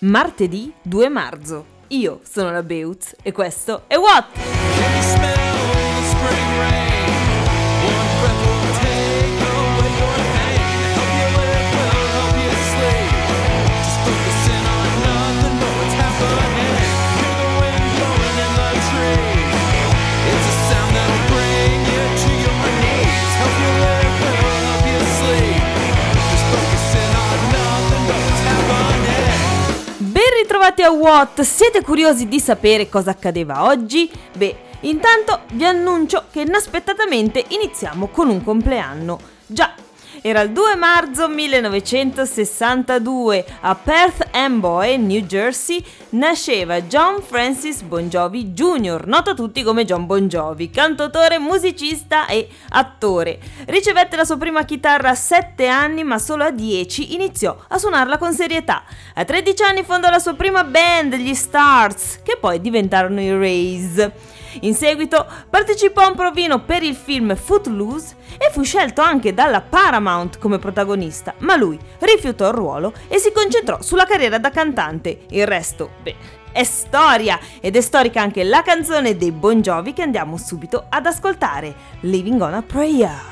Martedì 2 marzo. Io sono la Beutz e questo è What? Ritrovati a What? Siete curiosi di sapere cosa accadeva oggi? Beh, intanto vi annuncio che inaspettatamente iniziamo con un compleanno. Già, era il 2 marzo 1962, a Perth Amboy, New Jersey, nasceva John Francis Bon Jovi Jr., noto a tutti come John Bon Jovi, cantautore, musicista e attore. Ricevette la sua prima chitarra a 7 anni, ma solo a 10 iniziò a suonarla con serietà. A 13 anni fondò la sua prima band, gli Stars, che poi diventarono i Rays. In seguito partecipò a un provino per il film Footloose e fu scelto anche dalla Paramount come protagonista, ma lui rifiutò il ruolo e si concentrò sulla carriera da cantante. Il resto, è storia, ed è storica anche la canzone dei Bon Jovi che andiamo subito ad ascoltare, Living on a Prayer.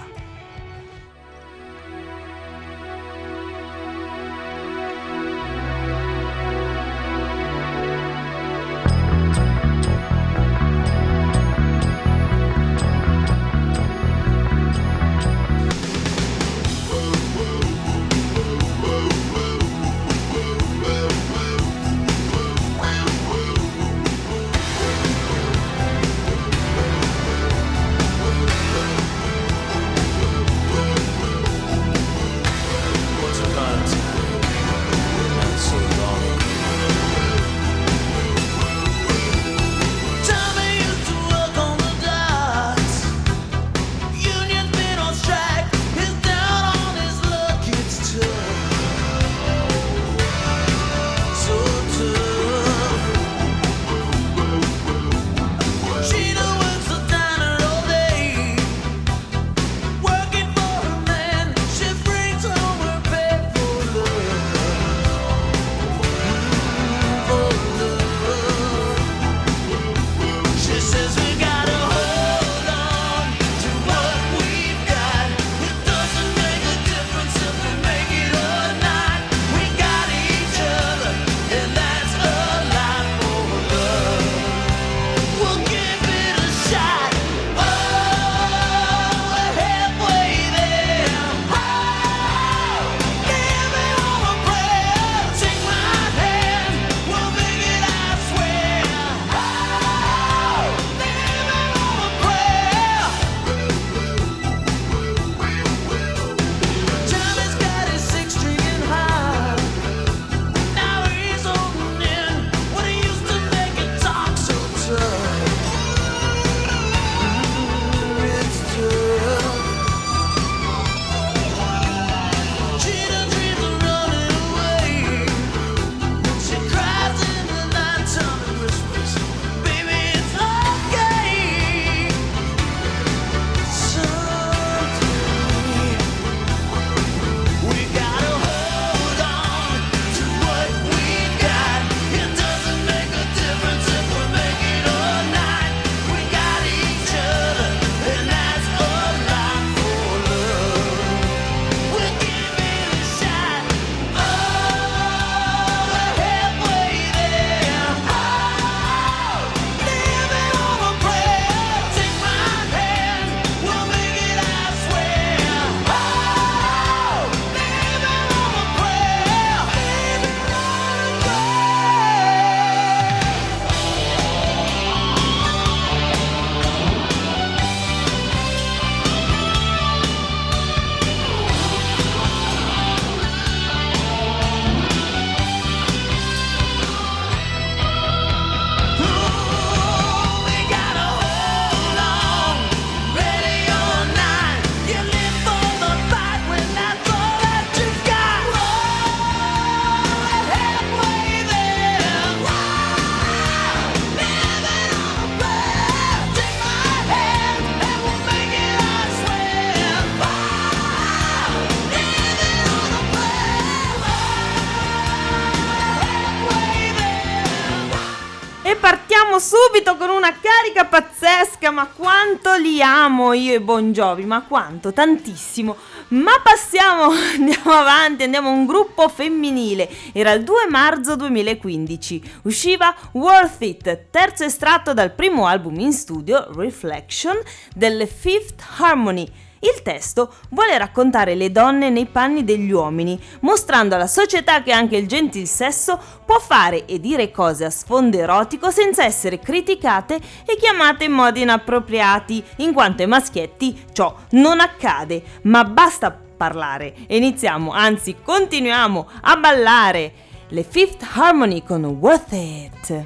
partiamo subito con una carica pazzesca, ma quanto li amo io e Bon Jovi, ma quanto, tantissimo. Ma andiamo avanti, andiamo a un gruppo femminile. Era il 2 marzo 2015, usciva Worth It, terzo estratto dal primo album in studio, Reflection, delle Fifth Harmony. Il testo vuole raccontare le donne nei panni degli uomini, mostrando alla società che anche il gentil sesso può fare e dire cose a sfondo erotico senza essere criticate e chiamate in modi inappropriati, in quanto ai maschietti ciò non accade, ma basta parlare e iniziamo, anzi continuiamo a ballare. Le Fifth Harmony con Worth It.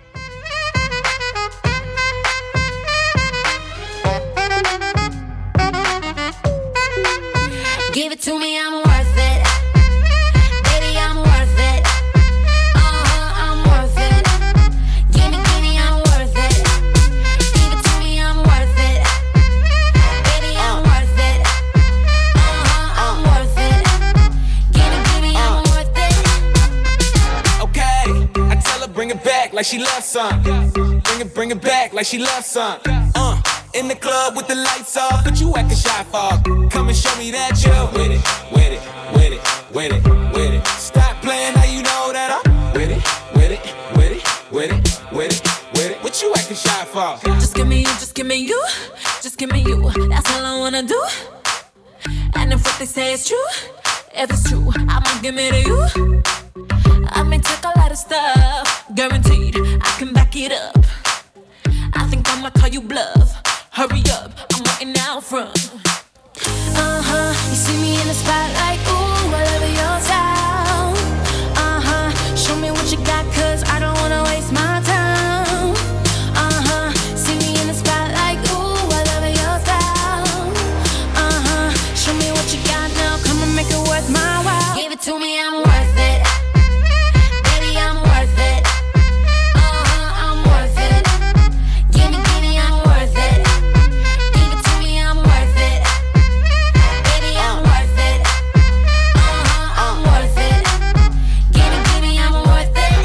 Give it to me, I'm worth it. Baby, I'm worth it. I'm worth it. Give me, I'm worth it. Give it to me, I'm worth it. Baby, I'm worth it. I'm worth it. Give me, I'm worth it. Okay, I tell her bring it back like she loves some. Bring it back like she loves some. In the club with the lights off, but you acting shy for. Come and show me that you're with it, with it, with it, with it, with it. Stop playing, how you know that I'm with it, with it, with it, with it, with it, with it. What you acting shy for? Just give me you, just give me you, just give me you. That's all I wanna do. And if what they say is true, if it's true, I'ma give it to you. I may take a lot of stuff, guaranteed I can back it up. I think I'ma call you bluff. Hurry up, I'm waiting out front. You see me in the spotlight, ooh, I love your style. Show me what you got, cause I don't wanna waste my time. See me in the spotlight, ooh, I love your style. Show me what you got now, come and make it worth my while. Give it to me, I'm worth it. Baby, I'm worth it. I'm worth it. Give me, I'm worth it. Give it to me, I'm worth it. Baby, I'm worth it. I'm worth it. Give me, I'm worth it.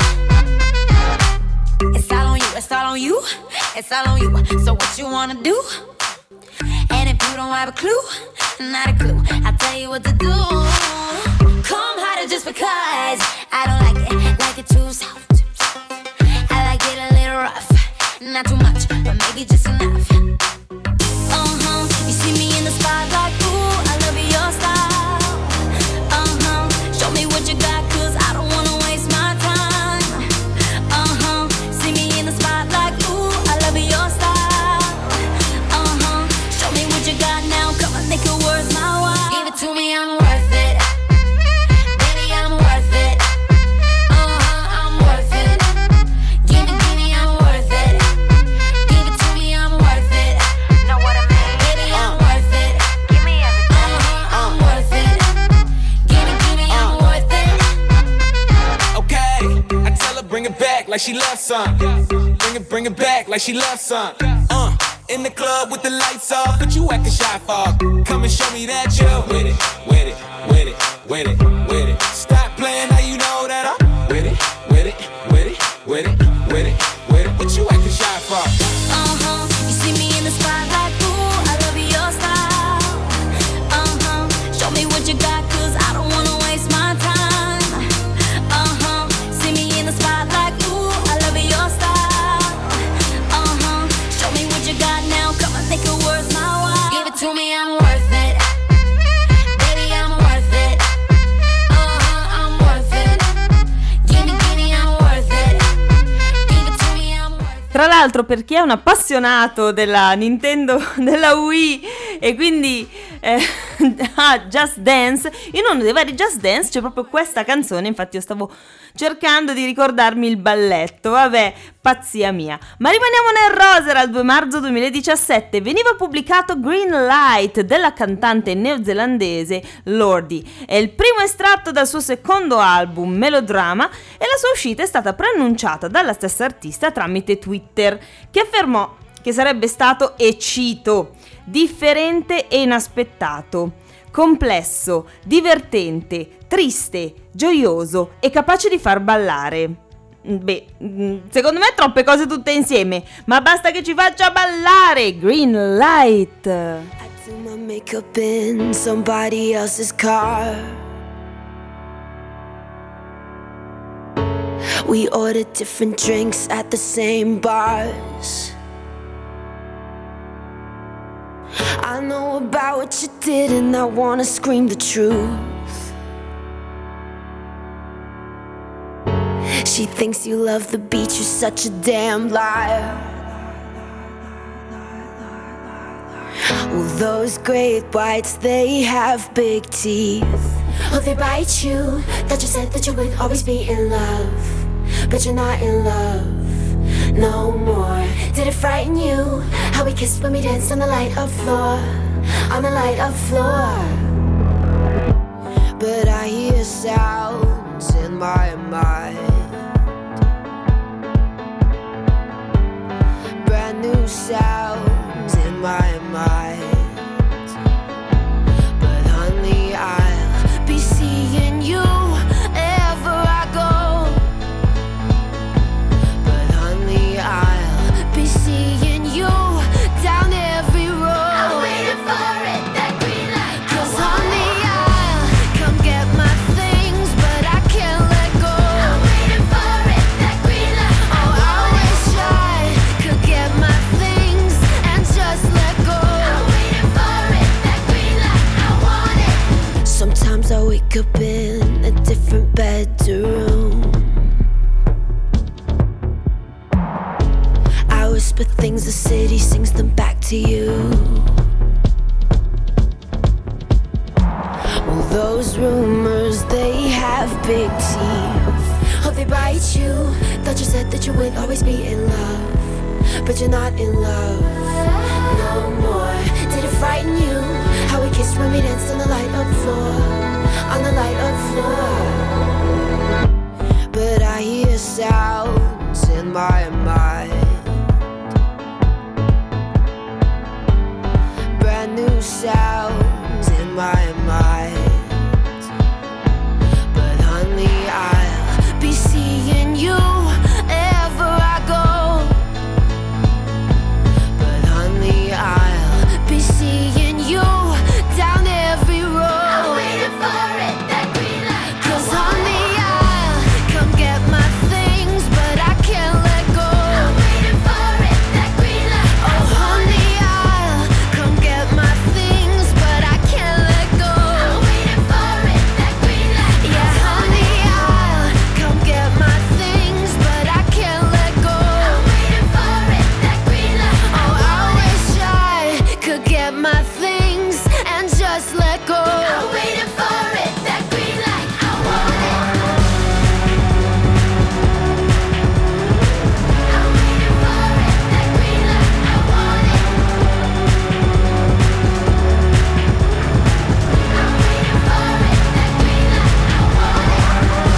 It's all on you, it's all on you, it's all on you. So what you wanna do? And if you don't have a clue, not a clue, I'll tell you what to do. Come harder just because I don't like it too soft. I like it a little rough, not too much, but maybe just enough. You see me in the spotlight, ooh, I love your style. Show me what you got, cause I don't wanna waste my time. See me in the spotlight, ooh, I love your style. Show me what you got now, come on, make it worth my while. Give it to me, I'm worth it. Baby, I'm worth it. I'm worth it. Give me, I'm worth it. Give it to me, I'm worth it. Know what I mean? Baby, I'm worth it. Give me everything. I'm worth it. Give me, I'm worth it. Okay, I tell her bring it back like she loves some. Bring it back like she loves some. In the club with the lights off, but you acting shy for. Come and show me that you're with it, with it, with it, with it, with it. Stop playing, how you know that I'm with it, with it, with it, with it, with it, with it. What you acting shy for? You see me in the spotlight, ooh, I love your style. Show me what you got, cause I don't wanna waste my time. See me in the spotlight, ooh, I love your style. Show me what you got now, come on, make it worth my while. Give it to me, I'm worth it. Baby, I'm worth it. I'm worth it. Give me, I'm worth it. Give it to me, I'm worth it. Tra l'altro, per chi è un appassionato della Nintendo, della Wii e quindi Just Dance, in uno dei vari Just Dance c'è proprio questa canzone, infatti io stavo cercando di ricordarmi il balletto, vabbè, pazzia mia. Ma rimaniamo nel rosa, era il 2 marzo 2017, veniva pubblicato Green Light della cantante neozelandese Lordi, è il primo estratto dal suo secondo album Melodrama e la sua uscita è stata preannunciata dalla stessa artista tramite Twitter, che affermò che sarebbe stato, e cito, differente e inaspettato, complesso, divertente, triste, gioioso e capace di far ballare. secondo me troppe cose tutte insieme, ma basta che ci faccia ballare. Green Light. I do my makeup in somebody else's car. We ordered different drinks at the same bars. I know about what you did and I wanna scream the truth. She thinks you love the beach, you're such a damn liar. Well, those great whites, they have big teeth. Oh, they bite you. That you said that you would always be in love, but you're not in love no more. Did it frighten you how we kissed when we danced on the light of floor, on the light of floor? But I hear sounds in my mind, brand new sounds in my mind. But honey, I'll be seeing you ever I go. But honey, I'll be seeing you down every road. I'm waiting for it, that green light. 'Cause honey, I'll come get my things, but I can't let go. I'm waiting for it, that green light. Oh, I wish I could get my things and just let go. I'm waiting for it, that green light. I want it. Sometimes I wake up in a different bedroom. I whisper things, the city sings them back to you. Well, those rumors, they have big teeth. Oh, they bite you. Thought you said that you would always be in love, but you're not in love no more. Did it frighten you how we kissed when we danced on the light of floor, on the light of floor? But I hear sounds in my mind, brand new sounds in my mind. But honey, I'll be seeing you ever I go. But honey, I'll be seeing you down every road. I'm waiting for it, that green light. 'Cause honey, I'll come get my things, but I can't let go. I'm waiting for it, that green light. Oh honey, I'll come get my things, but I can't let go. I'm waiting for it, that green light. Yeah, honey, I'll come get my things, but I can't let go. I'm waiting for it, that green light. Oh, I wish I could get my things and just let go. I'm waiting for it, that green light. I want it. I'm waiting for it, that green light. I want it. I'm waiting for it, that green light. I want it.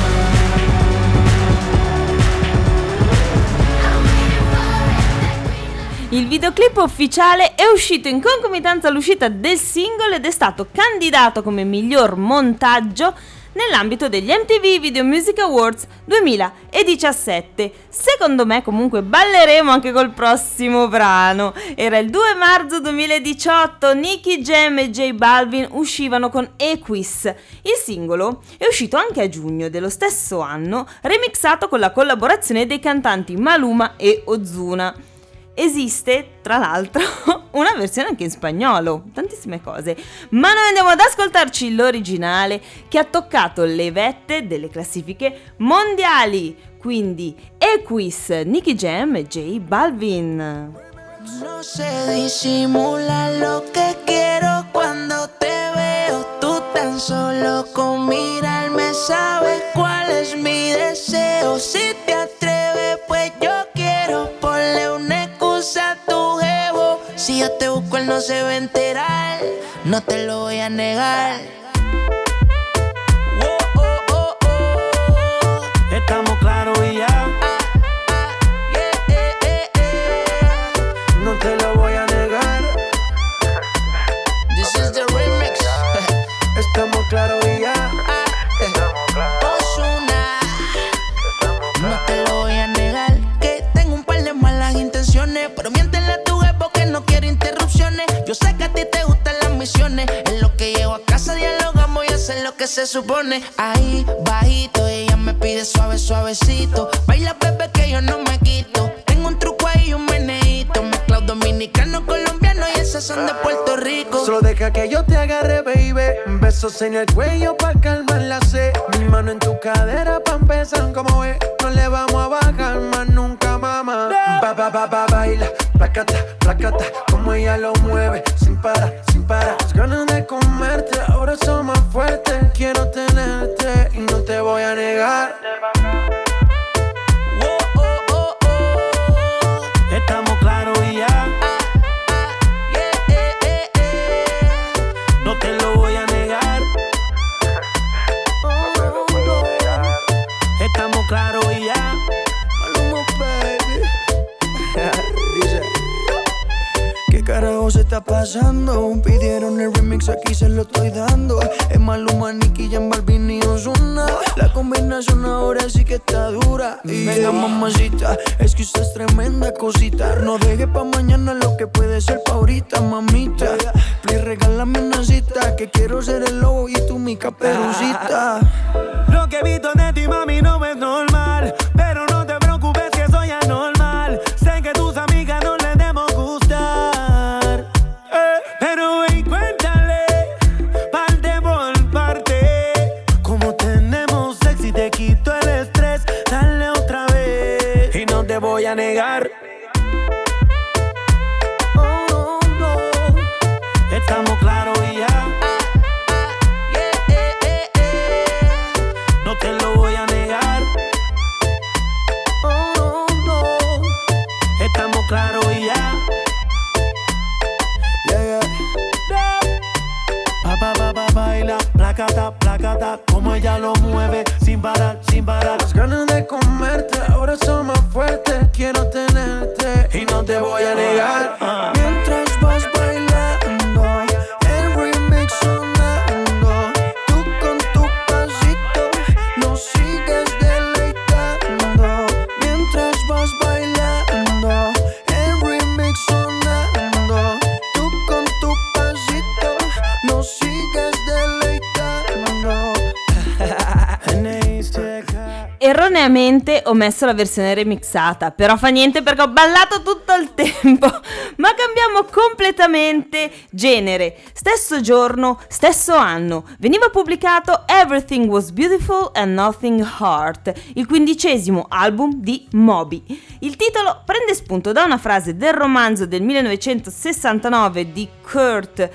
I'm waiting for it, that green light. Il videoclip ufficiale è uscito in concomitanza all'uscita del singolo ed è stato candidato come miglior montaggio nell'ambito degli MTV Video Music Awards 2017. Secondo me comunque balleremo anche col prossimo brano. Era il 2 marzo 2018, Nicky Jam e J Balvin uscivano con Equis. Il singolo è uscito anche a giugno dello stesso anno, remixato con la collaborazione dei cantanti Maluma e Ozuna. Esiste, tra l'altro, una versione anche in spagnolo, tantissime cose, ma noi andiamo ad ascoltarci l'originale che ha toccato le vette delle classifiche mondiali, quindi Equis, Nicky Jam e J Balvin. No sé disimular lo que quiero cuando te veo. Tú tan solo con mirarme sabes cuál es mi deseo. Si te atreves, pues yo quiero. Ponle una excusa a tu jevo. Si yo te busco, él no se va a enterar. No te lo voy a negar. Oh, oh, oh, oh. Estamos claros y ya. No te lo voy a negar. This is the remix. Estamos claros y ya. Ozuna. No te lo voy se supone. Ahí, bajito, ella me pide suave, suavecito. Baila, bebé, que yo no me quito. Tengo un truco ahí, un meneíto. Mezclado dominicano, colombiano y esas son de Puerto Rico. Solo deja que yo te agarre, baby. Besos en el cuello pa' calmar la sed. Mi mano en tu cadera pa' empezar, como ves. No le vamos a bajar más nunca, mamá. Baila, placata, placata. Como ella lo mueve, sin parar, sin parar. Las ganas de comerte, ahora son más fuertes. Quiero tenerte y no te voy a negar. Estamos claros y ya. No te lo voy a negar. Estamos claros y ya. Maluma, baby. Dice: ¿qué carajo se está pasando? Pidieron el remix, aquí se lo estoy dando. Es Maluma, Nicky Jam, Balvin y Ozuna. La combinación ahora sí que está dura. Venga, mamacita, es que usted es tremenda cosita. No deje pa' mañana lo que puede ser pa' ahorita, mamita. Please, regálame una cita, que quiero ser el lobo y tú mi caperucita. Lo que he visto de ti, mami, no es normal. Pero no te preocupes que soy anormal. Sé que tus amigas no les debemos gustar. Pero ven, cuéntale, parte por parte. Como tenemos sexo y te quito el estrés. Dale otra vez y no te voy a negar. Oh, no. Estamos claros y ya. No te lo voy a negar. Oh, no. Estamos claros y ya. Baila, placata, placata. Como ella lo mueve, sin parar, sin parar. Las ganas de comerte ahora son más fuertes. Quiero tenerte y no te voy a negar. Mientras vas bailando, el remix sonando. Tú con tu pasito nos sigues deleitando. Mientras vas bailando, el remix sonando. Tú con tu pasito nos sigues deleitando. Erroneamente ho messo la versione remixata, però fa niente perché ho ballato tutto il tempo. Ma cambiamo completamente genere. Stesso giorno, stesso anno, veniva pubblicato Everything Was Beautiful and Nothing Hurt, il 15° album di Moby. Il titolo prende spunto da una frase del romanzo del 1969 di Kurt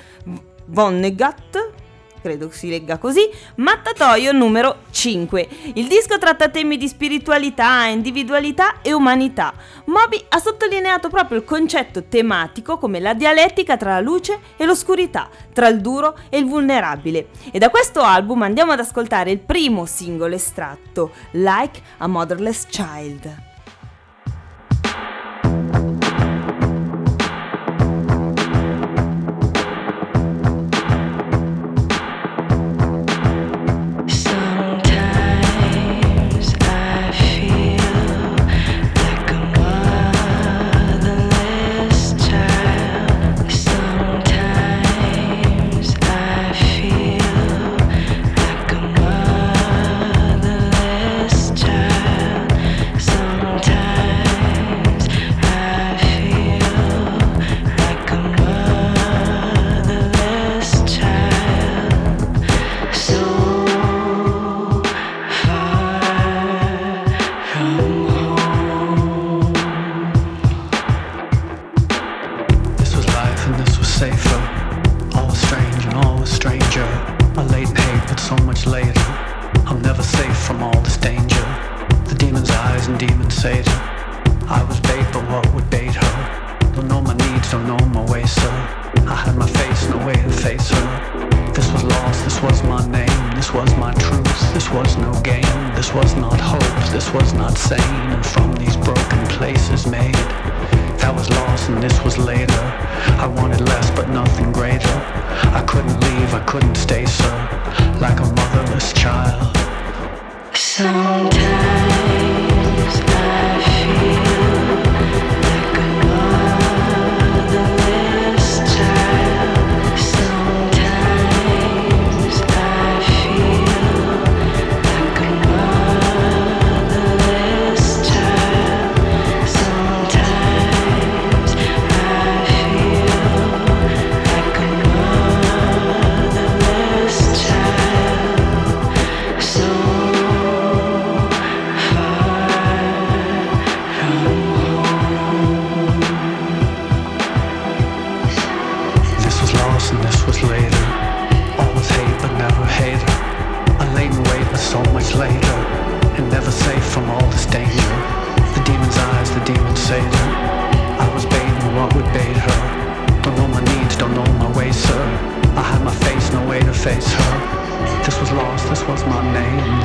Vonnegut, credo si legga così, Mattatoio numero 5. Il disco tratta temi di spiritualità, individualità e umanità. Moby ha sottolineato proprio il concetto tematico come la dialettica tra la luce e l'oscurità, tra il duro e il vulnerabile. E da questo album andiamo ad ascoltare il primo singolo estratto, Like a Motherless Child. Sometimes I feel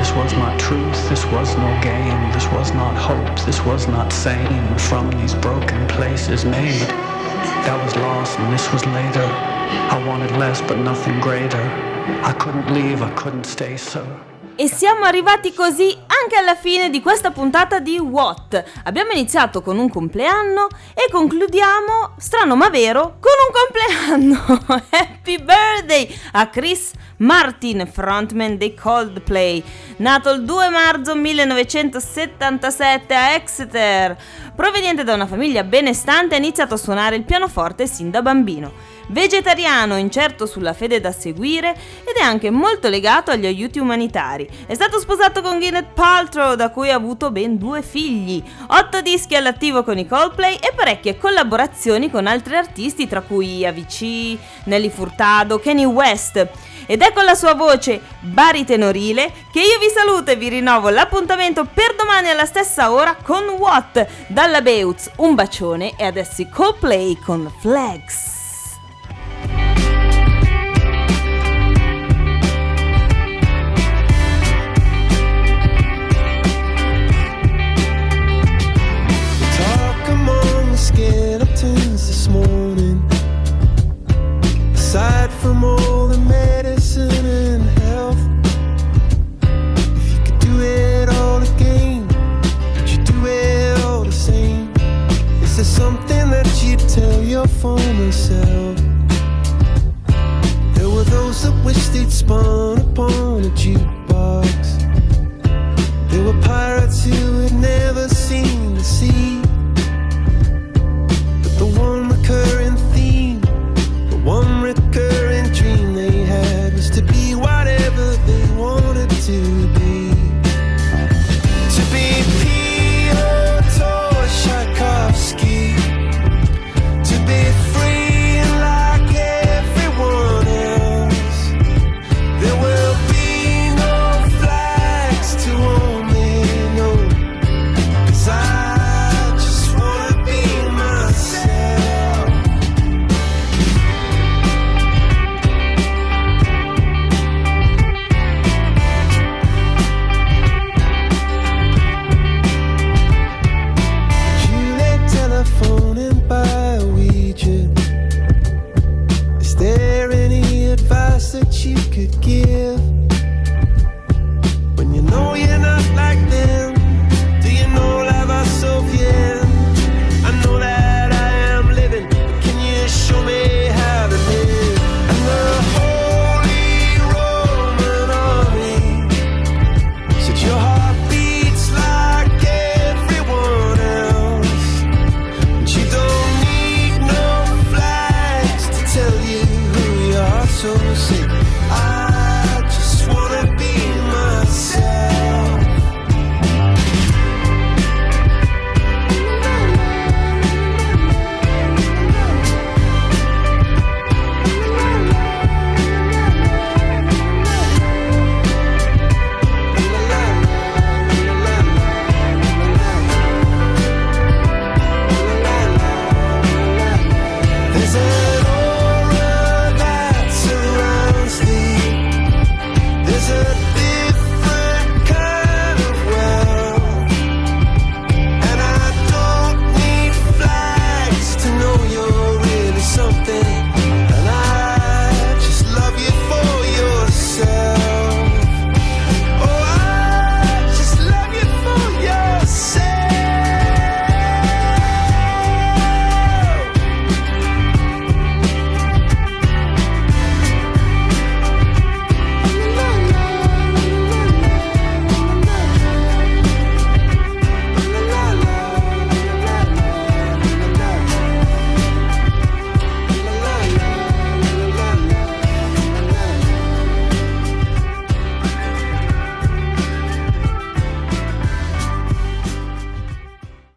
This was not truth, this was no game, this was not hope, this was not sane. From these broken places made, that was lost and this was later. I wanted less but nothing greater. I couldn't leave, I couldn't stay, so. E siamo arrivati così anche alla fine di questa puntata di What. Abbiamo iniziato con un compleanno e concludiamo, strano ma vero, con un compleanno. Happy birthday a Chris Martin, frontman dei Coldplay, nato il 2 marzo 1977 a Exeter. Proveniente da una famiglia benestante, ha iniziato a suonare il pianoforte sin da bambino. Vegetariano, incerto sulla fede da seguire ed è anche molto legato agli aiuti umanitari. È stato sposato con Gwyneth Paltrow, da cui ha avuto ben 2 figli, 8 dischi all'attivo con i Coldplay e parecchie collaborazioni con altri artisti, tra cui Avicii, Nelly Furtado, Kanye West. Ed è con la sua voce baritenorile che io vi saluto e vi rinnovo l'appuntamento per domani alla stessa ora con What. Dalla Beutz un bacione e adesso i Coldplay con Flags. Skeletons this morning. Aside from all the medicine and health, if you could do it all again, would you do it all the same? Is there something that you'd tell your former self? There were those that wished they'd spun upon a Jew.